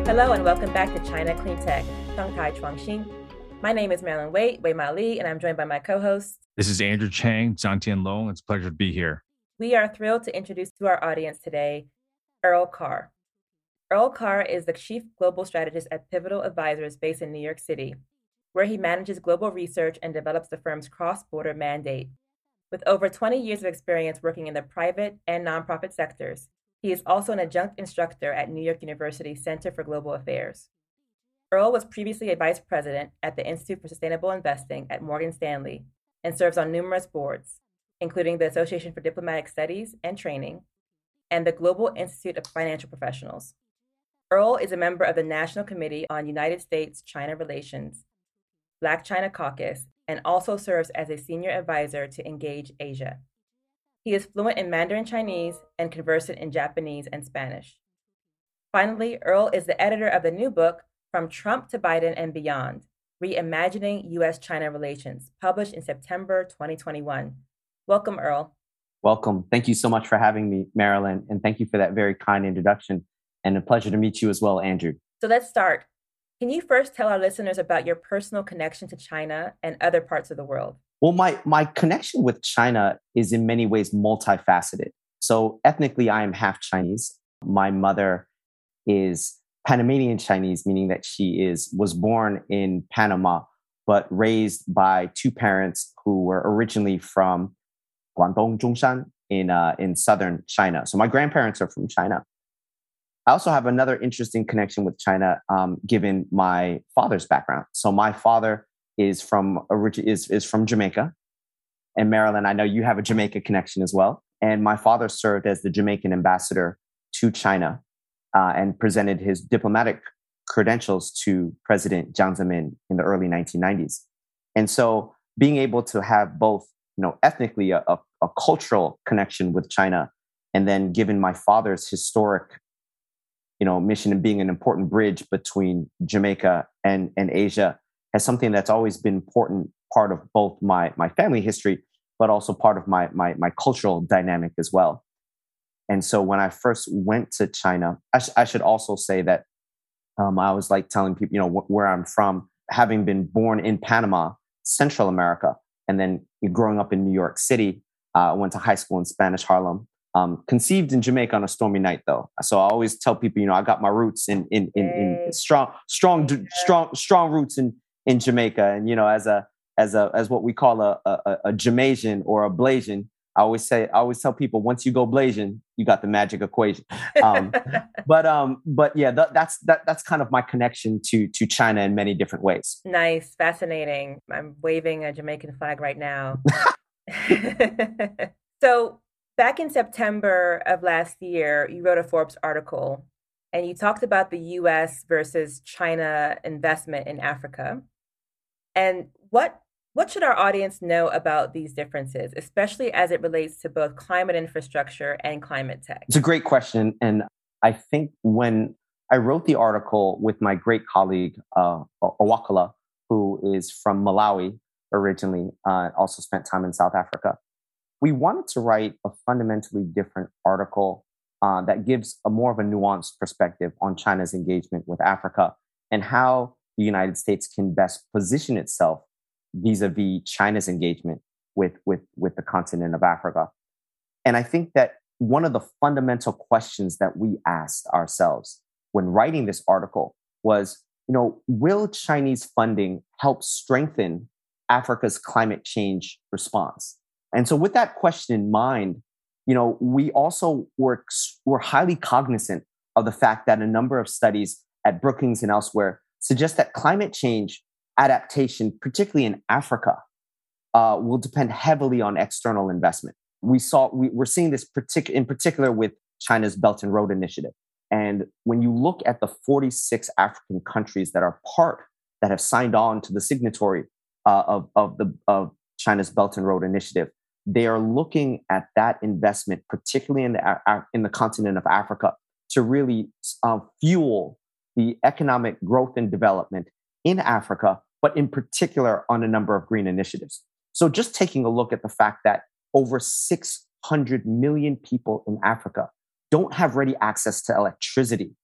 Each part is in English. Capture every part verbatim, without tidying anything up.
Hello and welcome back to China Clean Tech, Shanghai Chuangxin. My name is Marilyn Wei, Wei Ma Li, and I'm joined by my co-host. This is Andrew Chang, Zhangtian Long. It's a pleasure to be here. We are thrilled to introduce to our audience today, Earl Carr. Earl Carr is the Chief Global Strategist at Pivotal Advisors based in New York City, where he manages global research and develops the firm's cross-border mandate. With over twenty years of experience working in the private and nonprofit sectors, he is also an adjunct instructor at New York University Center for Global Affairs. Earl was previously a vice president at the Institute for Sustainable Investing at Morgan Stanley and serves on numerous boards, including the Association for Diplomatic Studies and Training and the Global Institute of Financial Professionals. Earl is a member of the National Committee on United States-China Relations, Black China Caucus, and also serves as a senior advisor to Engage Asia. He is fluent in Mandarin Chinese and conversant in Japanese and Spanish. Finally, Earl is the editor of the new book, From Trump to Biden and Beyond, Reimagining U S China Relations, published in September twenty twenty-one. Welcome, Earl. Welcome. Thank you so much for having me, Marilyn, and thank you for that very kind introduction, and a pleasure to meet you as well, Andrew. So let's start. Can you first tell our listeners about your personal connection to China and other parts of the world? Well, my, my connection with China is in many ways multifaceted. So ethnically, I am half Chinese. My mother is Panamanian Chinese, meaning that she is was born in Panama, but raised by two parents who were originally from Guangdong, Zhongshan in, uh, in southern China. So my grandparents are from China. I also have another interesting connection with China, um, given my father's background. So my father is from is is from Jamaica, and Marilyn, I know you have a Jamaica connection as well. And my father served as the Jamaican ambassador to China uh, and presented his diplomatic credentials to President Jiang Zemin in the early nineteen nineties. And so, being able to have both, you know, ethnically a, a, a cultural connection with China, and then given my father's historic, you know, mission and being an important bridge between Jamaica and and Asia, as something that's always been important part of both my my family history, but also part of my my my cultural dynamic as well. And so when I first went to China, I, sh- I should also say that um, I was like telling people, you know, wh- where I'm from, having been born in Panama, Central America, and then growing up in New York City, I uh, went to high school in Spanish Harlem. Um, conceived in Jamaica on a stormy night, though. So I always tell people, you know, I got my roots in in in, in strong, strong, strong, strong roots in in Jamaica, and you know, as a as a as what we call a a, a Jamaican or a Blasian, I always say, I always tell people, once you go Blasian, you got the magic equation. Um, but um, but yeah, th- that's that that's kind of my connection to to China in many different ways. Nice, fascinating. I'm waving a Jamaican flag right now. So back in September of last year, you wrote a Forbes article and you talked about the U S versus China investment in Africa. And what what should our audience know about these differences, especially as it relates to both climate infrastructure and climate tech? It's a great question. And I think when I wrote the article with my great colleague, uh, Owakala, who is from Malawi originally, uh, also spent time in South Africa, we wanted to write a fundamentally different article uh, that gives a more of a nuanced perspective on China's engagement with Africa and how the United States can best position itself vis-a-vis China's engagement with, with, with the continent of Africa. And I think that one of the fundamental questions that we asked ourselves when writing this article was, you know, will Chinese funding help strengthen Africa's climate change response? And so with that question in mind, you know, we also were, were highly cognizant of the fact that a number of studies at Brookings and elsewhere suggest that climate change adaptation, particularly in Africa, uh, will depend heavily on external investment. We saw, we, we're seeing this partic- in particular with China's Belt and Road Initiative. And when you look at the forty-six African countries that are part, that have signed on to the signatory uh, of, of, the, of China's Belt and Road Initiative, they are looking at that investment, particularly in the, uh, in the continent of Africa, to really uh, fuel the economic growth and development in Africa, but in particular on a number of green initiatives. So just taking a look at the fact that over six hundred million people in Africa don't have ready access to electricity.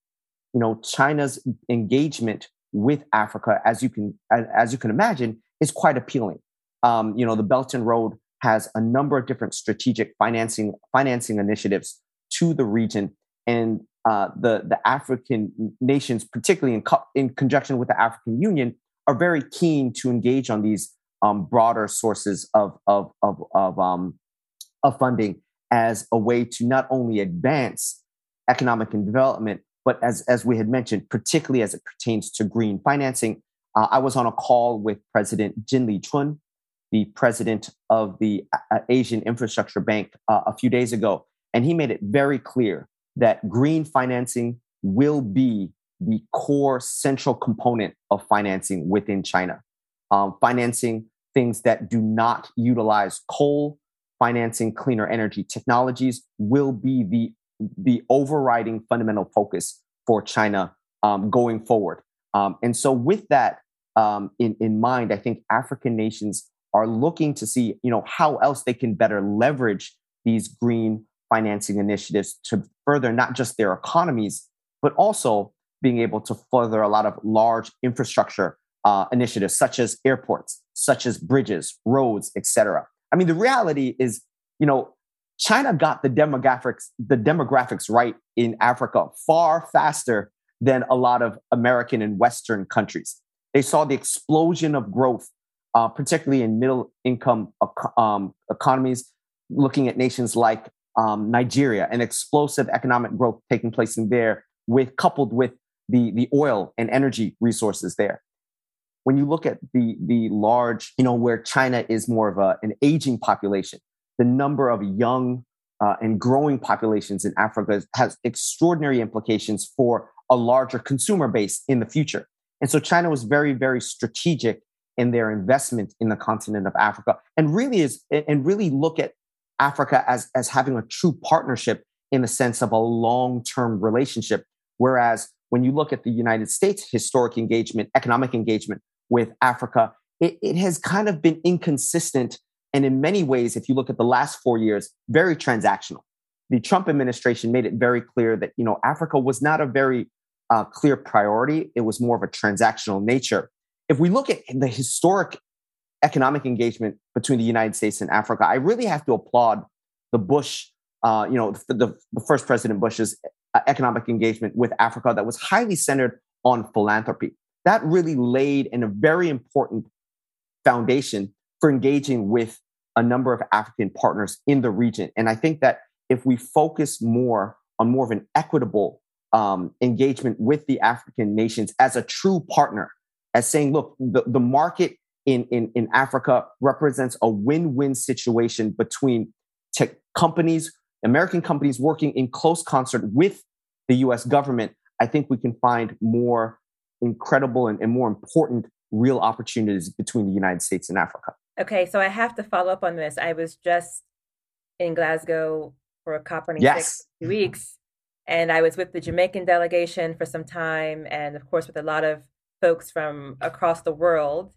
you know, China's engagement with Africa, as you can as, as you can imagine, is quite appealing. Um, you know, the Belt and Road has a number of different strategic financing financing initiatives to the region, and uh, the the African nations, particularly in co- in conjunction with the African Union, are very keen to engage on these um, broader sources of of of of, um, of funding as a way to not only advance economic and development, but as as we had mentioned, particularly as it pertains to green financing. Uh, I was on a call with President Jin Lichun, the president of the uh, Asian Infrastructure Bank, uh, a few days ago, and he made it very clear that green financing will be the core central component of financing within China. Um, financing things that do not utilize coal, financing cleaner energy technologies will be the, the overriding fundamental focus for China um, going forward. Um, and so with that um, in, in mind, I think African nations are looking to see, you know, how else they can better leverage these green financing initiatives to further not just their economies, but also being able to further a lot of large infrastructure uh, initiatives, such as airports, such as bridges, roads, et cetera. I mean, the reality is, you know, China got the demographics, the demographics right in Africa far faster than a lot of American and Western countries. They saw the explosion of growth, uh, particularly in middle income um, economies, looking at nations like um, Nigeria, and explosive economic growth taking place in there, with coupled with the, the oil and energy resources there. When you look at the, the large, you know, where China is more of a, an aging population, the number of young uh, and growing populations in Africa has extraordinary implications for a larger consumer base in the future. And so China was very, very strategic in their investment in the continent of Africa, and really is, and really look at Africa as, as having a true partnership in the sense of a long-term relationship. Whereas when you look at the United States' historic engagement, economic engagement with Africa, it, it has kind of been inconsistent. And in many ways, if you look at the last four years, very transactional. The Trump administration made it very clear that, you know, Africa was not a very uh, clear priority. It was more of a transactional nature. If we look at the historic economic engagement between the United States and Africa, I really have to applaud the Bush, uh, you know, the, the, the first President Bush's uh, economic engagement with Africa that was highly centered on philanthropy. That really laid in a very important foundation for engaging with a number of African partners in the region. And I think that if we focus more on more of an equitable um, engagement with the African nations as a true partner, as saying, look, the, the market in, in, in Africa represents a win-win situation between tech companies, American companies working in close concert with the U S government, I think we can find more incredible and, and more important real opportunities between the United States and Africa. Okay, so I have to follow up on this. I was just in Glasgow for a COP twenty-six Yes. two weeks, and I was with the Jamaican delegation for some time, and of course with a lot of folks from across the world.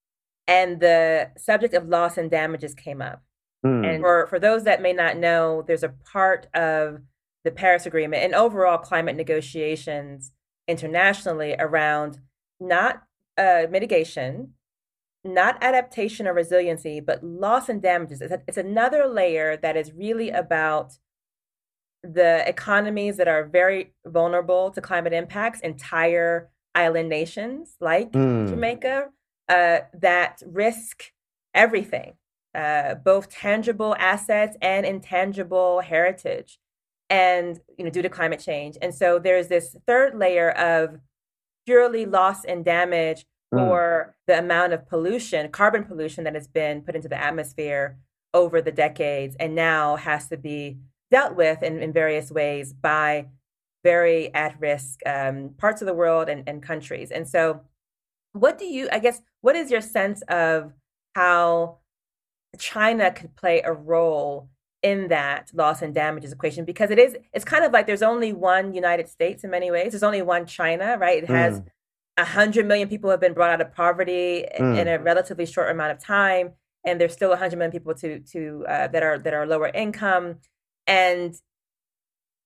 And the subject of loss and damages came up. Mm. And for, for those that may not know, there's a part of the Paris Agreement and overall climate negotiations internationally around not uh, mitigation, not adaptation or resiliency, but loss and damages. It's, a, it's another layer that is really about the economies that are very vulnerable to climate impacts, entire island nations like mm. Jamaica, uh, that risk everything, uh, both tangible assets and intangible heritage, and you know, due to climate change. And so there's this third layer of purely loss and damage for mm. the amount of pollution, carbon pollution that has been put into the atmosphere over the decades, and now has to be dealt with in, in various ways by very at-risk um, parts of the world and, and countries. And so what do you, I guess, what is your sense of how China could play a role in that loss and damages equation? Because it is, it's kind of like there's only one United States in many ways. There's only one China, right? It has mm. one hundred million people have been brought out of poverty mm. in a relatively short amount of time. And there's still one hundred million people to, to uh, that are that are lower income. And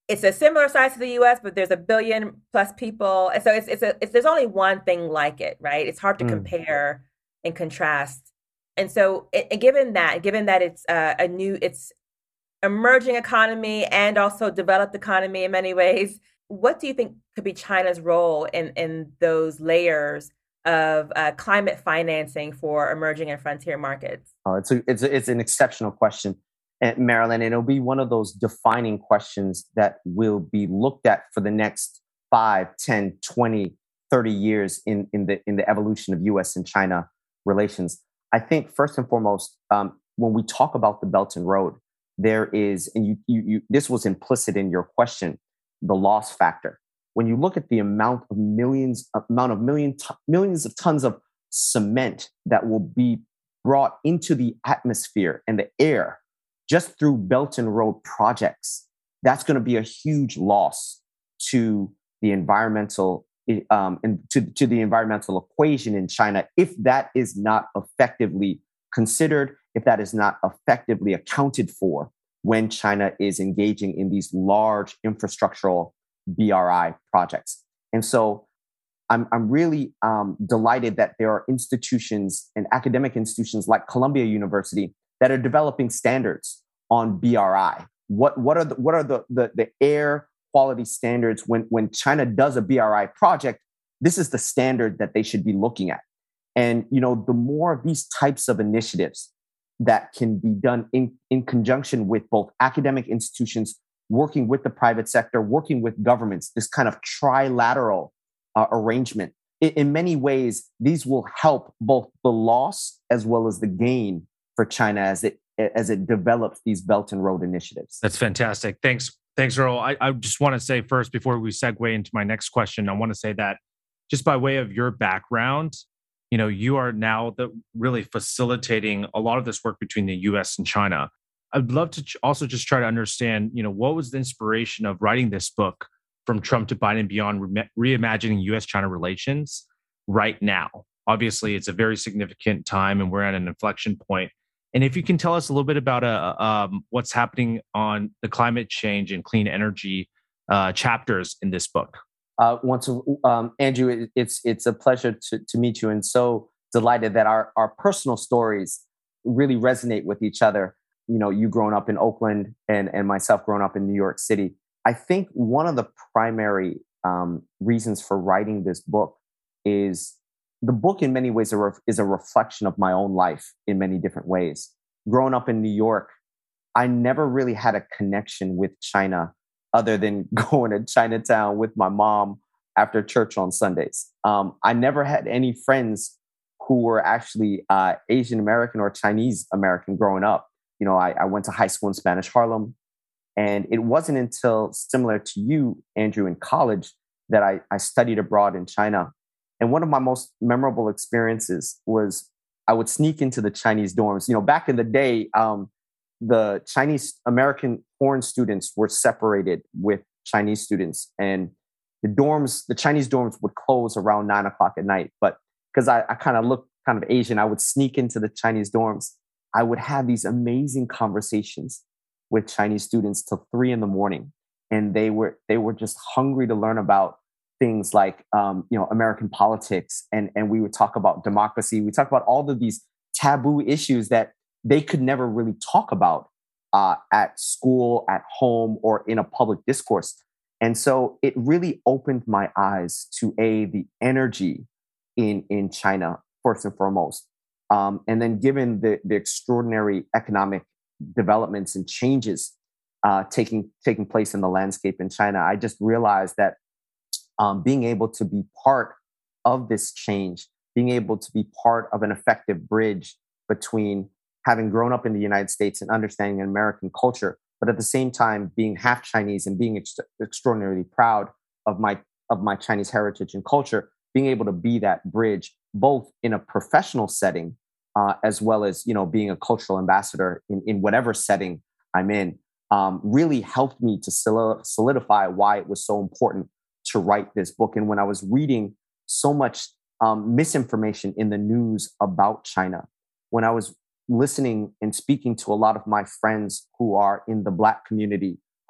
it's a similar size to the U S, but there's a billion plus people. And so it's it's a it's there's only one thing like it, right? It's hard to Mm. compare and contrast. And so, and given that, given that it's uh, a new, it's emerging economy and also developed economy in many ways, what do you think could be China's role in in those layers of uh, climate financing for emerging and frontier markets? Oh, it's a, it's a, it's an exceptional question, and Marilyn, and it'll be one of those defining questions that will be looked at for the next five, ten, twenty, thirty years in in the in the evolution of U S and China relations. I think first and foremost, um, when we talk about the Belt and Road, there is, and you, you, you this was implicit in your question, the loss factor. When you look at the amount of millions, amount of million t- millions of tons of cement that will be brought into the atmosphere and the air just through Belt and Road projects, that's going to be a huge loss to the environmental um, and to, to the environmental equation in China if that is not effectively considered, if that is not effectively accounted for when China is engaging in these large infrastructural B R I projects. And so I'm, I'm really um, delighted that there are institutions and academic institutions like Columbia University that are developing standards on B R I. What, what are the, what are the, the, the air quality standards when, when China does a B R I project? This is the standard that they should be looking at. And, you know, the more of these types of initiatives that can be done in, in conjunction with both academic institutions, working with the private sector, working with governments, this kind of trilateral uh, arrangement. In, in many ways, these will help both the loss as well as the gain for China as it as it develops these Belt and Road initiatives. That's fantastic. Thanks. Thanks, Earl. I, I just want to say first, before we segue into my next question, I want to say that just by way of your background, you know, you are now the, really facilitating a lot of this work between the U S and China. I'd love to ch- also just try to understand, you know, what was the inspiration of writing this book, From Trump to Biden and Beyond, Re- Reimagining U S-China Relations right now? Obviously, it's a very significant time and we're at an inflection point. And if you can tell us a little bit about uh, um, what's happening on the climate change and clean energy uh, chapters in this book. Uh, once, um, Andrew, it, it's it's a pleasure to, to meet you, and so delighted that our, our personal stories really resonate with each other. You know, you growing up in Oakland and, and myself growing up in New York City. I think one of the primary um, reasons for writing this book is the book in many ways is a reflection of my own life in many different ways. Growing up in New York, I never really had a connection with China other than going to Chinatown with my mom after church on Sundays. Um, I never had any friends who were actually uh, Asian American or Chinese American growing up. You know, I, I went to high school in Spanish Harlem. And it wasn't until, similar to you, Andrew, in college, that I, I studied abroad in China. And one of my most memorable experiences was I would sneak into the Chinese dorms. You know, back in the day, um, the Chinese American foreign students were separated with Chinese students. And the dorms, the Chinese dorms would close around nine o'clock at night. But because I, I kind of looked kind of Asian, I would sneak into the Chinese dorms. I would have these amazing conversations with Chinese students till three in the morning. And they were they were just hungry to learn about things like um, you know, American politics, and and we would talk about democracy. We talk about all of these taboo issues that they could never really talk about uh, at school, at home, or in a public discourse. And so it really opened my eyes to a the energy in in China first and foremost, um, and then given the the extraordinary economic developments and changes uh, taking taking place in the landscape in China, I just realized that um, being able to be part of this change, being able to be part of an effective bridge between having grown up in the United States and understanding American culture, but at the same time being half Chinese and being ex- extraordinarily proud of my of my Chinese heritage and culture, being able to be that bridge both in a professional setting uh, as well as, you know, being a cultural ambassador in, in whatever setting I'm in, um, really helped me to solidify why it was so important to write this book. And when I was reading so much um, misinformation in the news about China, when I was listening and speaking to a lot of my friends who are in the Black community,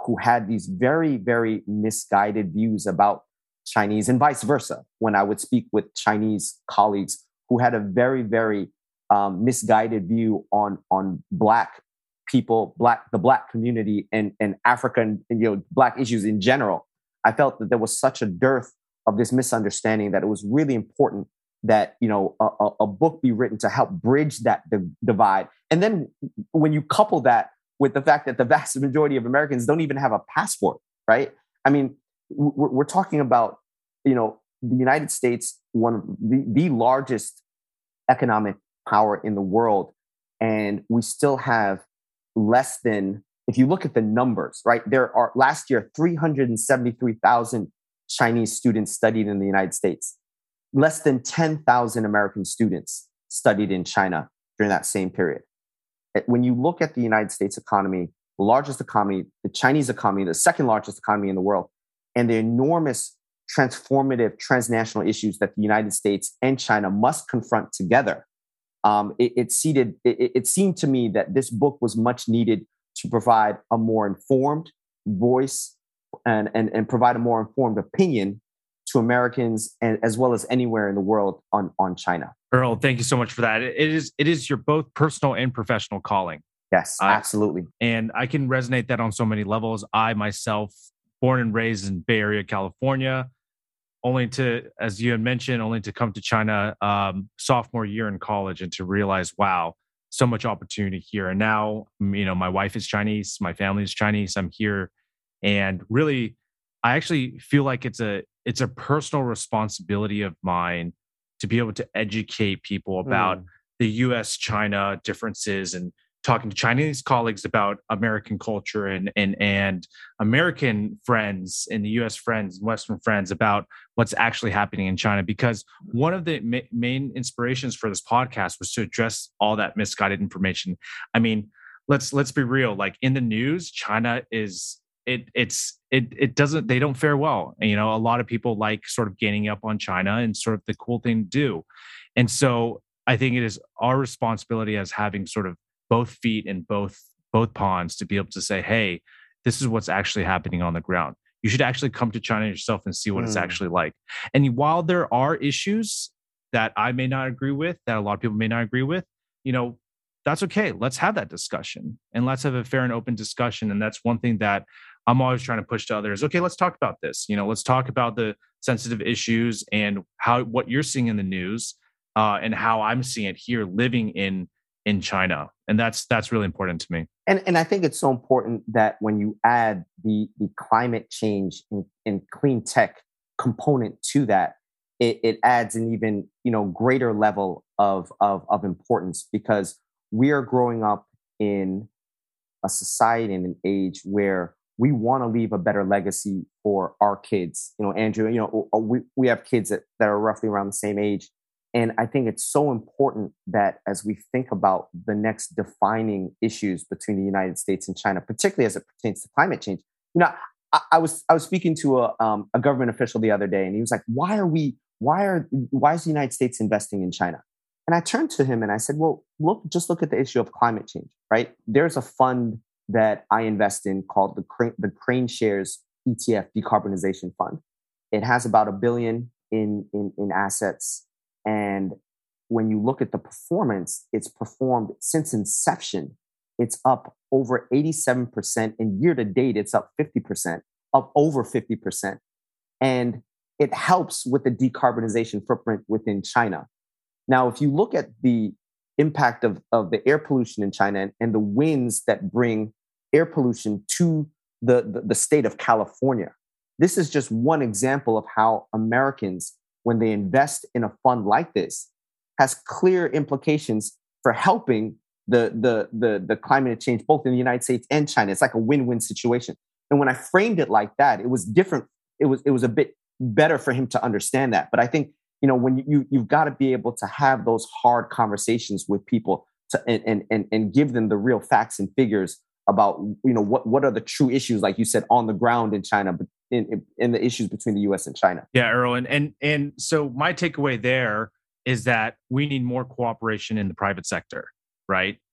who had these very, very misguided views about Chinese and vice versa. When I would speak with Chinese colleagues who had a very, very um, misguided view on on Black people, Black the Black community, and and African and, you know, Black issues in general, I felt that there was such a dearth of this misunderstanding that it was really important that, you know, a, a book be written to help bridge that div- divide. And then when you couple that with the fact that the vast majority of Americans don't even have a passport, right? I mean, we're, we're talking about, you know, the United States, one of the, the largest economic power in the world, and we still have less than, if you look at the numbers, right? There are last year three hundred seventy-three thousand Chinese students studied in the United States. Less than ten thousand American students studied in China during that same period. When you look at the United States economy, the largest economy, the Chinese economy, the second largest economy in the world, and the enormous transformative transnational issues that the United States and China must confront together, um, it, it, seeded, it, it seemed to me that this book was much needed to provide a more informed voice and, and, and provide a more informed opinion to Americans, and as well as anywhere in the world on, on China. Earl, thank you so much for that. It is it is your both personal and professional calling. Yes, uh, absolutely. And I can resonate that on so many levels. I myself, born and raised in Bay Area, California, only to, as you had mentioned, only to come to China um, sophomore year in college and to realize, wow, so much opportunity here. And now, you know, my wife is Chinese, my family is Chinese. I'm here, and really, I actually feel like it's a it's a personal responsibility of mine to be able to educate people about mm. the U S China differences, and talking to Chinese colleagues about American culture and and and American friends and the U S friends and Western friends about what's actually happening in China. Because one of the ma- main inspirations for this podcast was to address all that misguided information. I mean, let's let's be real. Like in the news, China is it it's it it doesn't they don't fare well. You know, a lot of people like sort of gaining up on China and sort of the cool thing to do. And so I think it is our responsibility as having sort of both feet in both both ponds to be able to say, hey, this is what's actually happening on the ground. You should actually come to China yourself and see what mm. it's actually like. And while there are issues that I may not agree with, that a lot of people may not agree with, you know, that's okay. Let's have that discussion, and let's have a fair and open discussion. And that's one thing that I'm always trying to push to others. Okay, let's talk about this. You know, let's talk about the sensitive issues and how what you're seeing in the news uh, and how I'm seeing it here living in in China. And that's that's really important to me. And and I think it's so important that when you add the the climate change and, and clean tech component to that, it, it adds an even, you know, greater level of, of of importance, because we are growing up in a society and an age where we want to leave a better legacy for our kids. You know, Andrew, you know, we, we have kids that, that are roughly around the same age. And I think it's so important that as we think about the next defining issues between the United States and China, particularly as it pertains to climate change, you know, I, I was I was speaking to a um, a government official the other day, and he was like, "Why are we? Why are why is the United States investing in China?" And I turned to him and I said, "Well, look, just look at the issue of climate change, right? There's a fund that I invest in called the Crane, the Crane Shares E T F Decarbonization Fund. It has about a billion in in, in assets." And when you look at the performance, it's performed since inception. It's up over eighty-seven percent. And year to date, it's up fifty percent, up over fifty percent. And it helps with the decarbonization footprint within China. Now, if you look at the impact of, of the air pollution in China and, and the winds that bring air pollution to the, the, the state of California, this is just one example of how Americans, when they invest in a fund like this, has clear implications for helping the, the, the, the climate change, both in the United States and China. It's like a win-win situation. And when I framed it like that, it was different. It was, it was a bit better for him to understand that. But I think, you know, when you, you've got to be able to have those hard conversations with people to, and, and, and give them the real facts and figures about, you know, what, what are the true issues, like you said, on the ground in China, but in, in the issues between the U S and China. Yeah, Earl. And, and, and so my takeaway there is that we need more cooperation in the private sector, right?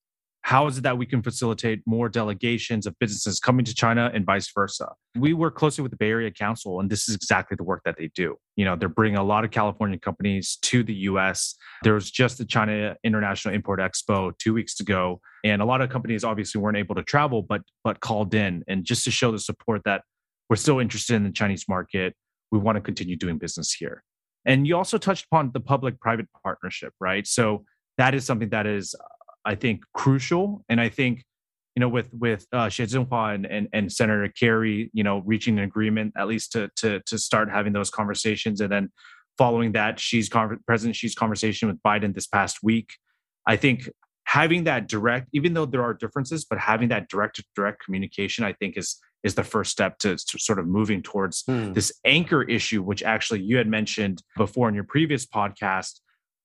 how is it that we can facilitate more delegations of businesses coming to China and vice versa? We work closely with the Bay Area Council, and this is exactly the work that they do. You know, they're bringing a lot of California companies to the U S. There was just the China International Import Expo two weeks ago, and a lot of companies obviously weren't able to travel, but but called in, and just to show the support that we're still interested in the Chinese market. We want to continue doing business here. And you also touched upon the public-private partnership, right? So that is something that is, I think, crucial. And I think, you know, with with uh, Xie Zhenhua and, and and Senator Kerry, you know, reaching an agreement at least to to to start having those conversations, and then following that, Xi's con- President Xi's conversation with Biden this past week, I think having that direct, even though there are differences, but having that direct to direct communication, I think is is the first step to, to sort of moving towards mm. this anchor issue, which actually you had mentioned before in your previous podcast.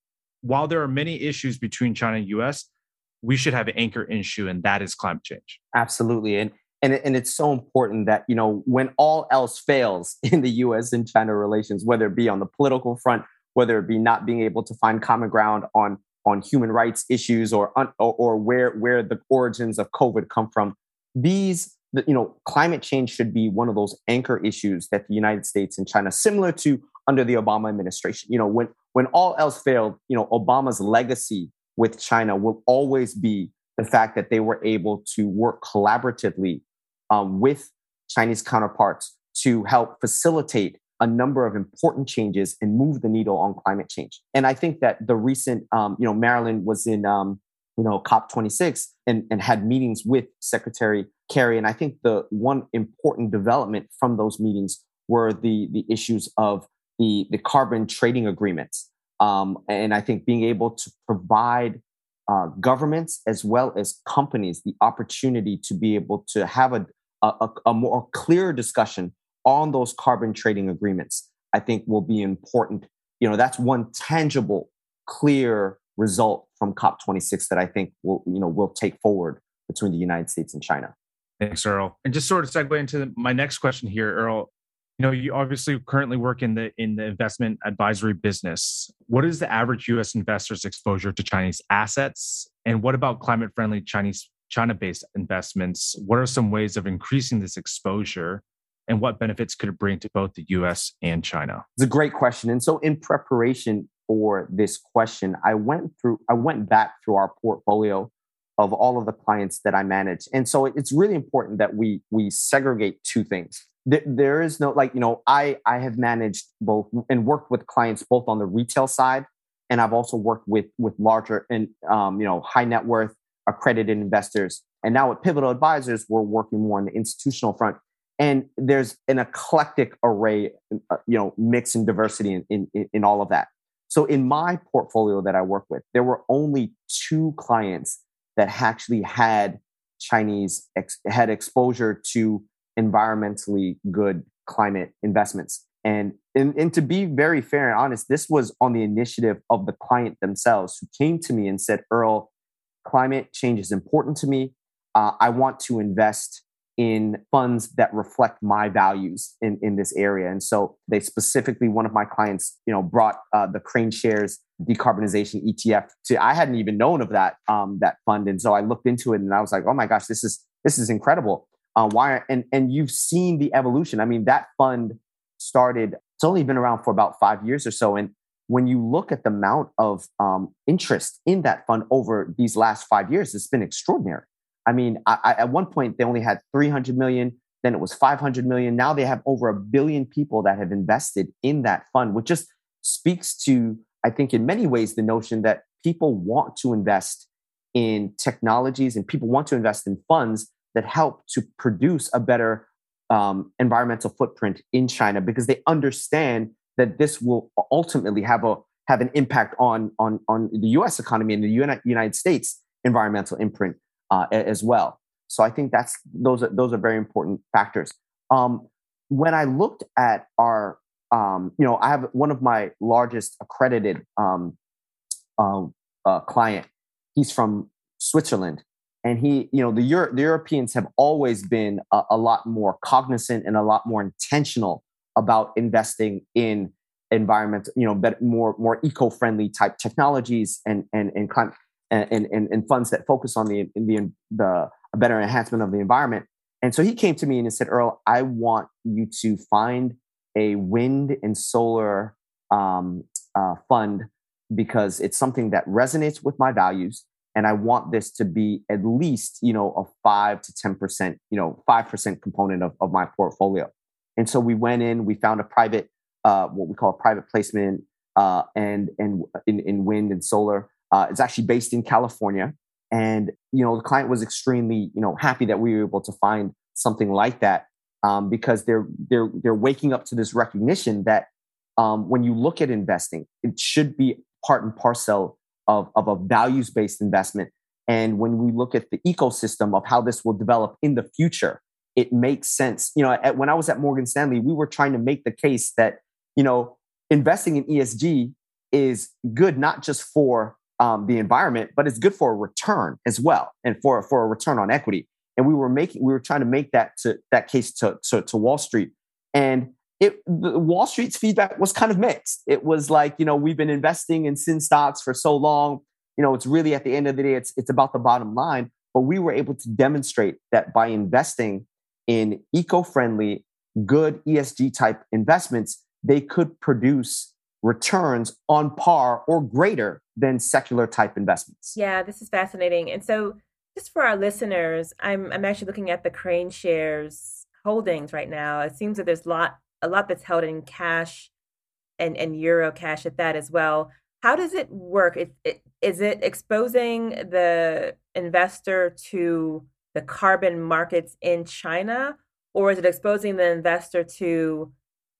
While there are many issues between China and U S, we should have an anchor issue, and that is climate change. Absolutely. And, and, and it's so important that, you know, when all else fails in the U S and China relations, whether it be on the political front, whether it be not being able to find common ground on, on human rights issues or, or, or where, where the origins of COVID come from, these, you know, climate change should be one of those anchor issues that the United States and China, similar to under the Obama administration, you know, when, when all else failed, you know, Obama's legacy with China will always be the fact that they were able to work collaboratively um, with Chinese counterparts to help facilitate a number of important changes and move the needle on climate change. And I think that the recent, um, you know, Marilyn was in, um, you know, COP twenty-six and, and had meetings with Secretary Kerry. And I think the one important development from those meetings were the, the issues of the, the carbon trading agreements. Um, and I think being able to provide uh, governments as well as companies the opportunity to be able to have a, a, a more clear discussion on those carbon trading agreements, I think will be important. You know, that's one tangible, clear result from COP twenty-six that I think will, you know, will take forward between the United States and China. Thanks, Earl. And just sort of segue into my next question here, Earl. You know, you obviously currently work in the in the investment advisory business. What is the average U S investor's exposure to Chinese assets? And what about climate-friendly Chinese China-based investments? What are some ways of increasing this exposure? And what benefits could it bring to both the U S and China? It's a great question. And so in preparation for this question, I went through, I went back through our portfolio of all of the clients that I manage. And so it's really important that we we segregate two things. There is no, like, you know, I, I have managed both and worked with clients both on the retail side, and I've also worked with, with larger and, um, you know, high net worth accredited investors. And now at Pivotal Advisors, we're working more on the institutional front. And there's an eclectic array, uh, you know, mix and diversity in, in, in all of that. So in my portfolio that I work with, there were only two clients that actually had Chinese, ex- had exposure to environmentally good climate investments. And, and, and to be very fair and honest, this was on the initiative of the client themselves who came to me and said, Earl, climate change is important to me. Uh, I want to invest in funds that reflect my values in, in this area. And so they specifically, one of my clients, you know, brought uh, the Crane Shares decarbonization E T F to, I hadn't even known of that, um, that fund. And so I looked into it and I was like, oh my gosh, this is, this is incredible. Uh, why? And, and you've seen the evolution. I mean, that fund started, it's only been around for about five years or so. And when you look at the amount of um, interest in that fund over these last five years, it's been extraordinary. I mean, I, I, at one point, they only had three hundred million, then it was five hundred million. Now they have over a billion people that have invested in that fund, which just speaks to, I think, in many ways, the notion that people want to invest in technologies and people want to invest in funds that help to produce a better um, environmental footprint in China, because they understand that this will ultimately have a have an impact on on on the U S economy and the Uni- United States environmental imprint uh, as well. So I think that's those are those are very important factors. Um, when I looked at our, um, you know, I have one of my largest accredited um, uh, uh, client. He's from Switzerland. And he, you know, the, Euro- the Europeans have always been a, a lot more cognizant and a lot more intentional about investing in environmental, you know, but more more eco-friendly type technologies and and and climate. and, and, and funds that focus on the, the, the a better enhancement of the environment. And so he came to me and he said, Earl, I want you to find a wind and solar um, uh, fund because it's something that resonates with my values. And I want this to be at least, you know, a five to ten percent, you know, five percent component of, of my portfolio. And so we went in, we found a private, uh, what we call a private placement uh, and, and in, in wind and solar. Uh, it's actually based in California. And, you know, the client was extremely, you know, happy that we were able to find something like that um, because they're, they're, they're waking up to this recognition that um, when you look at investing, it should be part and parcel of, of a values-based investment. And when we look at the ecosystem of how this will develop in the future, it makes sense. You know, at, when I was at Morgan Stanley, we were trying to make the case that, you know, investing in E S G is good, not just for um, the environment, but it's good for a return as well. And for, for a return on equity. And we were making, we were trying to make that to that case to, to, to Wall Street. And it, the, Wall Street's feedback was kind of mixed. It was like, you know, we've been investing in sin stocks for so long. You know, it's really at the end of the day, it's, it's about the bottom line. But we were able to demonstrate that by investing in eco-friendly, good E S G type investments, they could produce returns on par or greater than secular type investments. Yeah, this is fascinating. And so just for our listeners, I'm I'm actually looking at the Crane shares holdings right now. It seems that there's a lot a lot that's held in cash and, and euro cash at that as well. How does it work? It, it, is it exposing the investor to the carbon markets in China, or is it exposing the investor to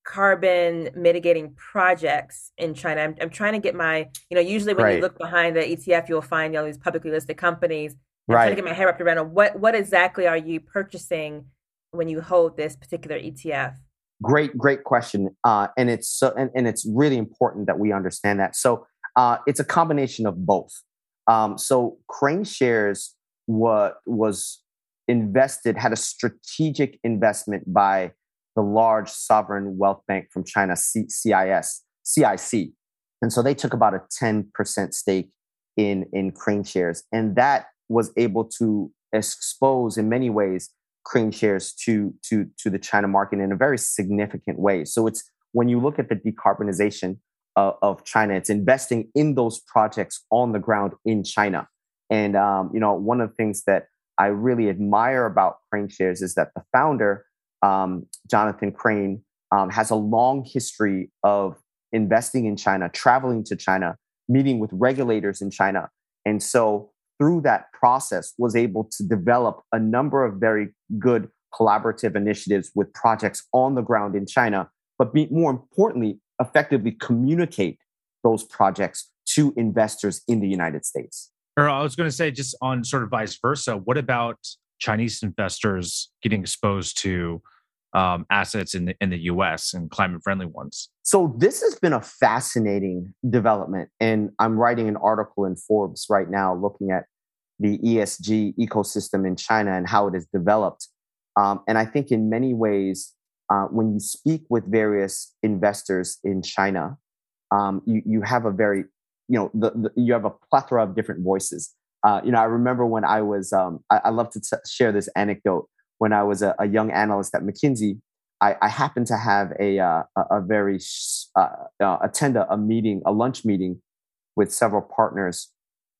carbon mitigating projects in China? I'm, I'm trying to get my, you know, usually when Right. you look behind the E T F, you'll find all these publicly listed companies. I'm Right. trying to get my hair wrapped around what, what exactly are you purchasing when you hold this particular E T F? Great, great question. Uh, and it's so, and, and it's really important that we understand that. So uh, it's a combination of both. Um, so Crane shares what was invested, had a strategic investment by the large sovereign wealth bank from China, C- CIS, C I C. And so they took about a ten percent stake in, in Crane shares. And that was able to expose in many ways Crane shares to, to, to the China market in a very significant way. So it's when you look at the decarbonization uh, of China, it's investing in those projects on the ground in China. And, um, you know, one of the things that I really admire about Crane shares is that the founder, um, Jonathan Crane, um, has a long history of investing in China, traveling to China, meeting with regulators in China. And so through that process was able to develop a number of very good collaborative initiatives with projects on the ground in China, but be, more importantly, effectively communicate those projects to investors in the United States. Or I was going to say, just on sort of vice versa, what about Chinese investors getting exposed to um, assets in the, in the U S and climate-friendly ones? So this has been a fascinating development. And I'm writing an article in Forbes right now looking at the E S G ecosystem in China and how it has developed. Um, and I think in many ways, uh, when you speak with various investors in China, um, you, you have a very, you know, the, the, you have a plethora of different voices. Uh, you know, I remember when I was, um, I, I love to t- share this anecdote. When I was a, a young analyst at McKinsey, I, I happened to have a uh, a, a very uh, uh, attend a, a meeting, a lunch meeting with several partners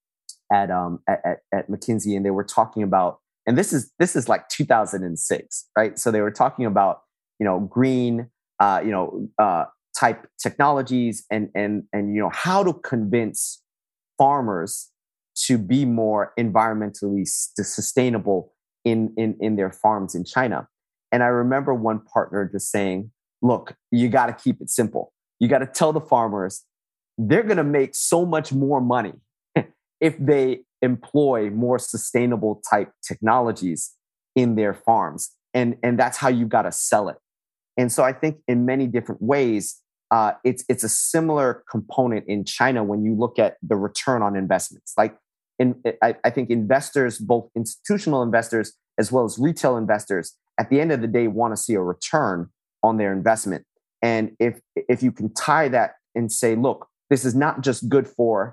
at um at, at, at McKinsey, and they were talking about, and this is this is like two thousand six, right? So they were talking about, you know, green, uh, you know, uh, type technologies, and and and you know how to convince farmers to be more environmentally s- sustainable in in in their farms in China. And I remember one partner just saying, "Look, you got to keep it simple. You got to tell the farmers they're going to make so much more money if they employ more sustainable type technologies in their farms. And, and that's how you got to sell it." And so I think in many different ways, uh, it's, it's a similar component in China when you look at the return on investments. Like in, I, I think investors, both institutional investors as well as retail investors, at the end of the day, want to see a return on their investment. And if, if you can tie that and say, look, this is not just good for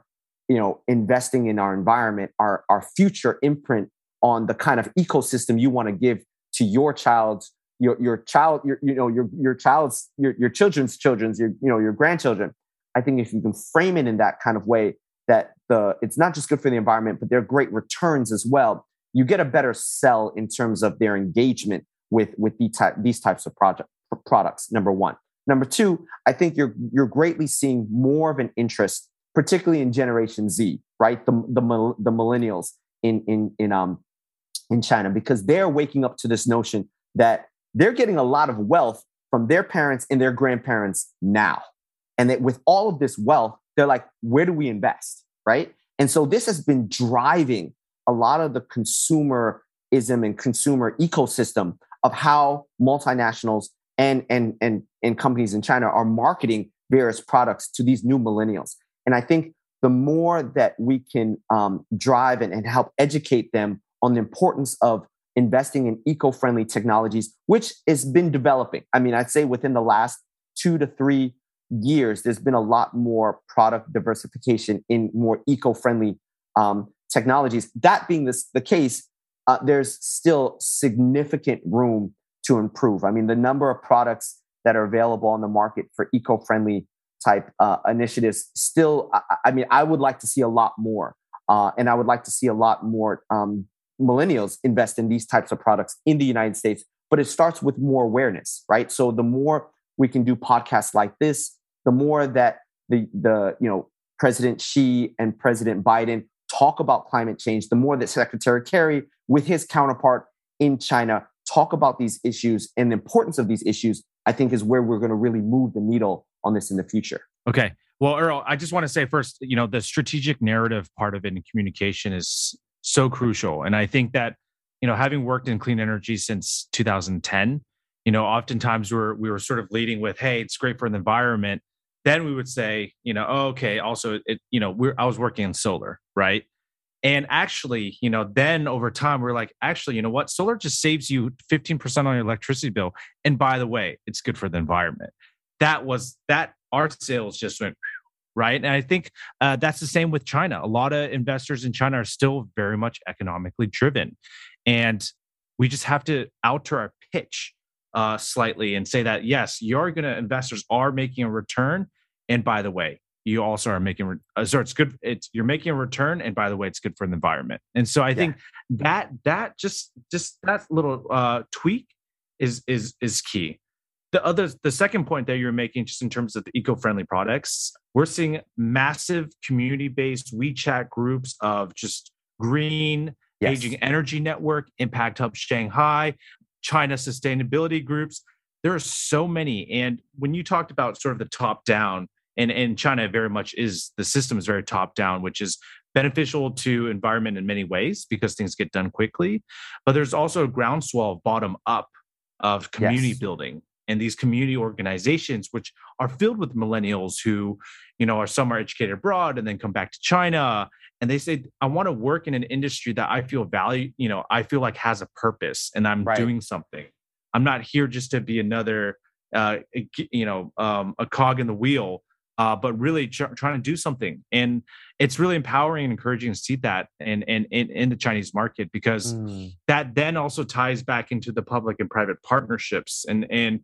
you know, investing in our environment, our, our future imprint on the kind of ecosystem you want to give to your child's, your, your child, your, you know, your, your child's, your, your children's children's, your, you know, your grandchildren. I think if you can frame it in that kind of way, that the, it's not just good for the environment, but there are great returns as well. You get a better sell in terms of their engagement with, with the type, these types of project, products, number one. Number two, I think you're, you're greatly seeing more of an interest, particularly in Generation Z, right? The, the, the millennials in, in, in, um, in China, because they're waking up to this notion that they're getting a lot of wealth from their parents and their grandparents now. And that with all of this wealth, they're like, where do we invest, right? And so this has been driving a lot of the consumerism and consumer ecosystem of how multinationals and, and, and, and companies in China are marketing various products to these new millennials. And I think the more that we can um, drive and, and help educate them on the importance of investing in eco-friendly technologies, which has been developing. I mean, I'd say within the last two to three years, there's been a lot more product diversification in more eco-friendly um, technologies. That being this, the case, uh, there's still significant room to improve. I mean, the number of products that are available on the market for eco-friendly type uh, initiatives still, I, I mean, I would like to see a lot more. Uh, and I would like to see a lot more um, millennials invest in these types of products in the United States. But it starts with more awareness, right? So the more we can do podcasts like this, the more that the, the you know, President Xi and President Biden talk about climate change, the more that Secretary Kerry, with his counterpart in China, talk about these issues and the importance of these issues, I think is where we're going to really move the needle on this in the future. Okay. Well, Earl, I just want to say first, you know, the strategic narrative part of it in communication is so crucial. And I think that, you know, having worked in clean energy since two thousand ten, you know, oftentimes we're, we were sort of leading with, hey, it's great for the environment. Then we would say, you know, oh, okay, also, it, you know, we're, I was working in solar, right? And actually, you know, then over time, we're like, actually, you know what? Solar just saves you fifteen percent on your electricity bill. And by the way, it's good for the environment. That was, that our sales just went, right? And I think uh, that's the same with China. A lot of investors in China are still very much economically driven. And we just have to alter our pitch uh, slightly and say that, yes, you're going to, investors are making a return. And by the way, you also are making, uh, so it's good. It's, you're making a return. And by the way, it's good for the environment. And so I yeah. think that, that just, just that little uh, tweak is, is, is key. The other, the second point that you're making, just in terms of the eco-friendly products, we're seeing massive community-based WeChat groups of just green, yes. aging energy network, Impact Hub Shanghai, China sustainability groups. There are so many. And when you talked about sort of the top down, and, and China very much is, the system is very top down, which is beneficial to environment in many ways because things get done quickly. But there's also a groundswell of bottom up of community yes. building. And these community organizations, which are filled with millennials who, you know, are some are educated abroad and then come back to China. And they say, I want to work in an industry that I feel value, you know, I feel like has a purpose and I'm right. doing something. I'm not here just to be another, uh, you know, um, a cog in the wheel, uh, but really tr- trying to do something. And it's really empowering and encouraging to see that in, in, in, in the Chinese market, because mm. that then also ties back into the public and private partnerships. And, and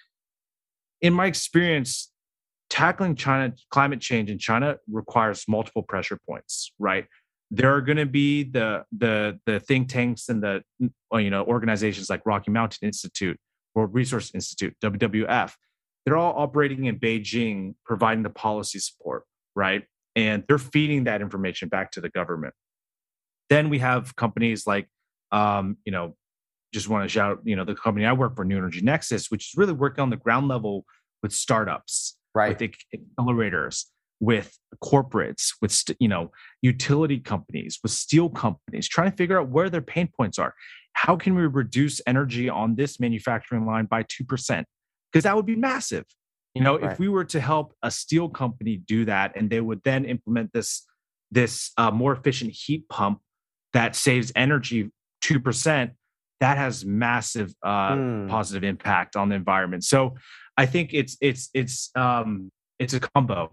in my experience, tackling China climate change in China requires multiple pressure points, right? There are going to be the, the, the think tanks and the, you know, organizations like Rocky Mountain Institute, World Resource Institute, W W F. They're all operating in Beijing, providing the policy support, right? And they're feeding that information back to the government. Then we have companies like, um, you know, just want to shout, you know, the company I work for, New Energy Nexus, which is really working on the ground level with startups, right? With accelerators, with corporates, with, st- you know, utility companies, with steel companies, trying to figure out where their pain points are. How can we reduce energy on this manufacturing line by two percent? Because that would be massive. You know, right. if we were to help a steel company do that, and they would then implement this, this uh, more efficient heat pump that saves energy two percent, that has massive uh, mm. positive impact on the environment. So I think it's it's it's um, it's a combo.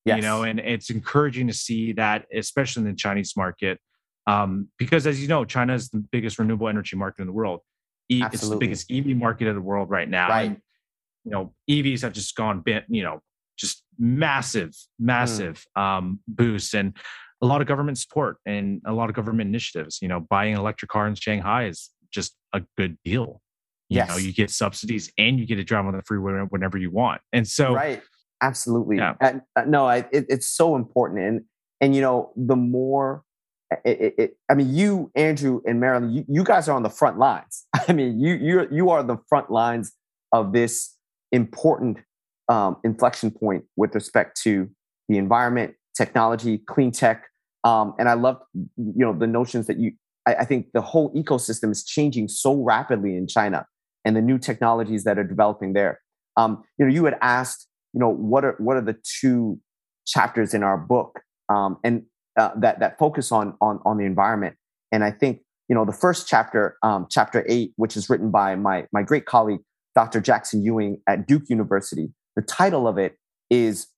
Yes. You know, and it's encouraging to see that, especially in the Chinese market, um, because as you know, China is the biggest renewable energy market in the world. E- it's the Absolutely. biggest E V market in the world right now. Right. And, you know, E Vs have just gone, bit, you know, just massive, massive mm. um, boost, and a lot of government support and a lot of government initiatives. You know, buying an electric car in Shanghai is just a good deal. You yes. know, you get subsidies and you get to drive on the freeway whenever you want. And so, right, absolutely. Yeah. And, uh, no, I, it, it's so important. And and you know, the more, it, it, it, I mean, you, Andrew, and Marilyn, you, you guys are on the front lines. I mean, you you you are the front lines of this important um, inflection point with respect to the environment, technology, clean tech, um, and I love you know the notions that you. I, I think the whole ecosystem is changing so rapidly in China, and the new technologies that are developing there. Um, you know, you had asked, you know, what are what are the two chapters in our book, um, and uh, that that focus on on on the environment. And I think you know the first chapter, um, chapter eight, which is written by my my great colleague Doctor Jackson Ewing at Duke University. The title of it is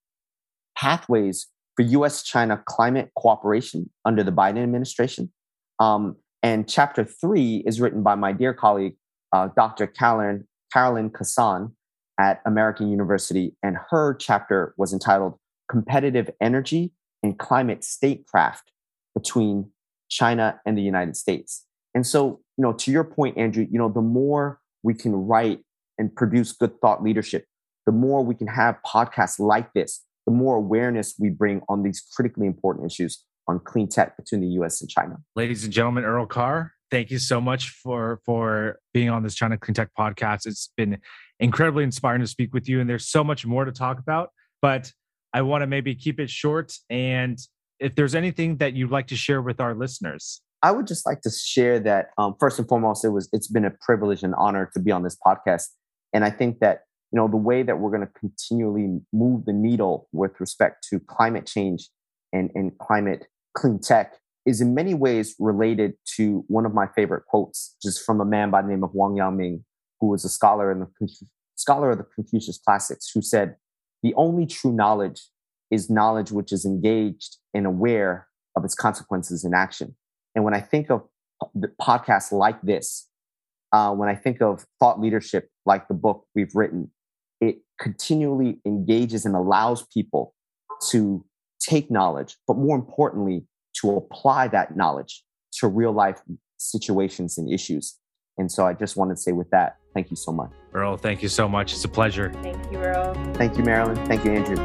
Pathways for U S China Climate Cooperation under the Biden administration. Um, and chapter three is written by my dear colleague, uh, Doctor Carolyn, Carolyn Kassan at American University. And her chapter was entitled Competitive Energy and Climate Statecraft Between China and the United States. And so, you know, to your point, Andrew, you know, the more we can write and produce good thought leadership, the more we can have podcasts like this, the more awareness we bring on these critically important issues on clean tech between the U S and China. Ladies and gentlemen, Earl Carr, thank you so much for, for being on this China Clean Tech podcast. It's been incredibly inspiring to speak with you, and there's so much more to talk about, but I want to maybe keep it short. And if there's anything that you'd like to share with our listeners. I would just like to share that, um, first and foremost, it was, it's been a privilege and honor to be on this podcast. And I think that you know, the way that we're going to continually move the needle with respect to climate change and, and climate clean tech is in many ways related to one of my favorite quotes, just from a man by the name of Wang Yangming, who was a scholar in the scholar of the Confucius Classics, who said, "The only true knowledge is knowledge which is engaged and aware of its consequences in action." And when I think of podcasts like this, uh, when I think of thought leadership like the book we've written, it continually engages and allows people to take knowledge, but more importantly, to apply that knowledge to real life situations and issues. And so I just wanted to say with that, thank you so much. Earl, thank you so much. It's a pleasure. Thank you, Earl. Thank you, Marilyn. Thank you, Andrew.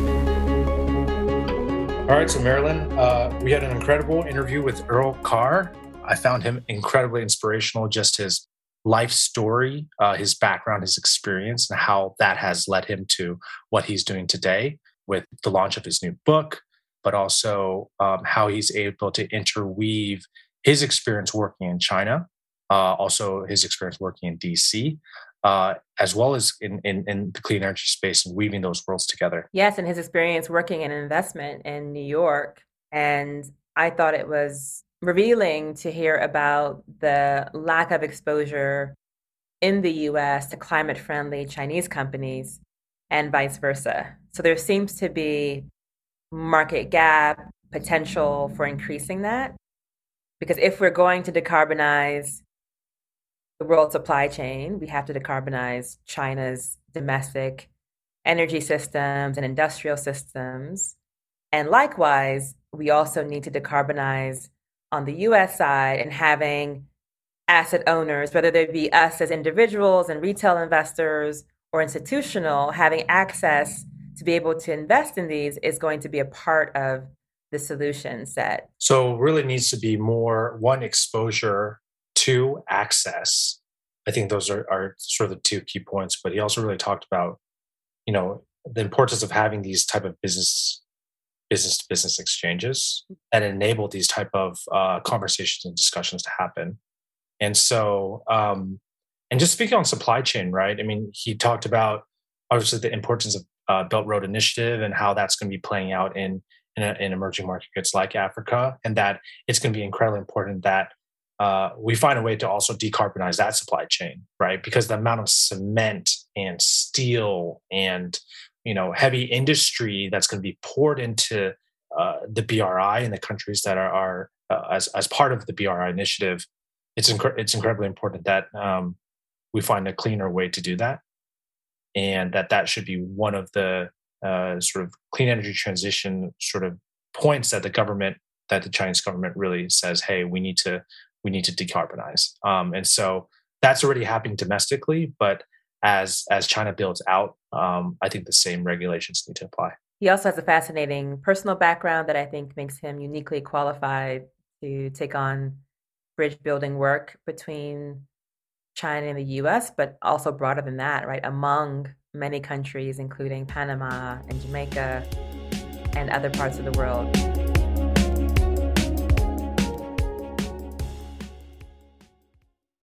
All right, so Marilyn, uh, we had an incredible interview with Earl Carr. I found him incredibly inspirational, just his life story, uh, his background, his experience, and how that has led him to what he's doing today with the launch of his new book, but also um, how he's able to interweave his experience working in China, uh, also his experience working in D C, uh, as well as in, in, in the clean energy space, and weaving those worlds together. Yes, and his experience working in investment in New York. And I thought it was revealing to hear about the lack of exposure in the U S to climate-friendly Chinese companies and vice versa. So there seems to be market gap potential for increasing that. Because if we're going to decarbonize the world supply chain, we have to decarbonize China's domestic energy systems and industrial systems. And likewise, we also need to decarbonize on the U S side, and having asset owners, whether they be us as individuals and retail investors or institutional, having access to be able to invest in these is going to be a part of the solution set. So really needs to be more, one, exposure, two, access. I think those are, are sort of the two key points, but he also really talked about, you know, the importance of having these type of business business to business exchanges that enable these type of uh, conversations and discussions to happen. And so, um, and just speaking on supply chain, right? I mean, he talked about obviously the importance of uh, Belt Road Initiative and how that's going to be playing out in in, a, in emerging markets like Africa, and that it's going to be incredibly important that uh, we find a way to also decarbonize that supply chain, right? Because the amount of cement and steel and you know, heavy industry that's going to be poured into uh, the B R I and the countries that are, are uh, as as part of the B R I initiative, it's inc- it's incredibly important that um, we find a cleaner way to do that, and that that should be one of the uh, sort of clean energy transition sort of points that the government, that the Chinese government really says, hey, we need to we need to decarbonize. Um, and so that's already happening domestically, but as as China builds out, um, I think the same regulations need to apply. He also has a fascinating personal background that I think makes him uniquely qualified to take on bridge building work between China and the U S, but also broader than that, right? Among many countries, including Panama and Jamaica and other parts of the world.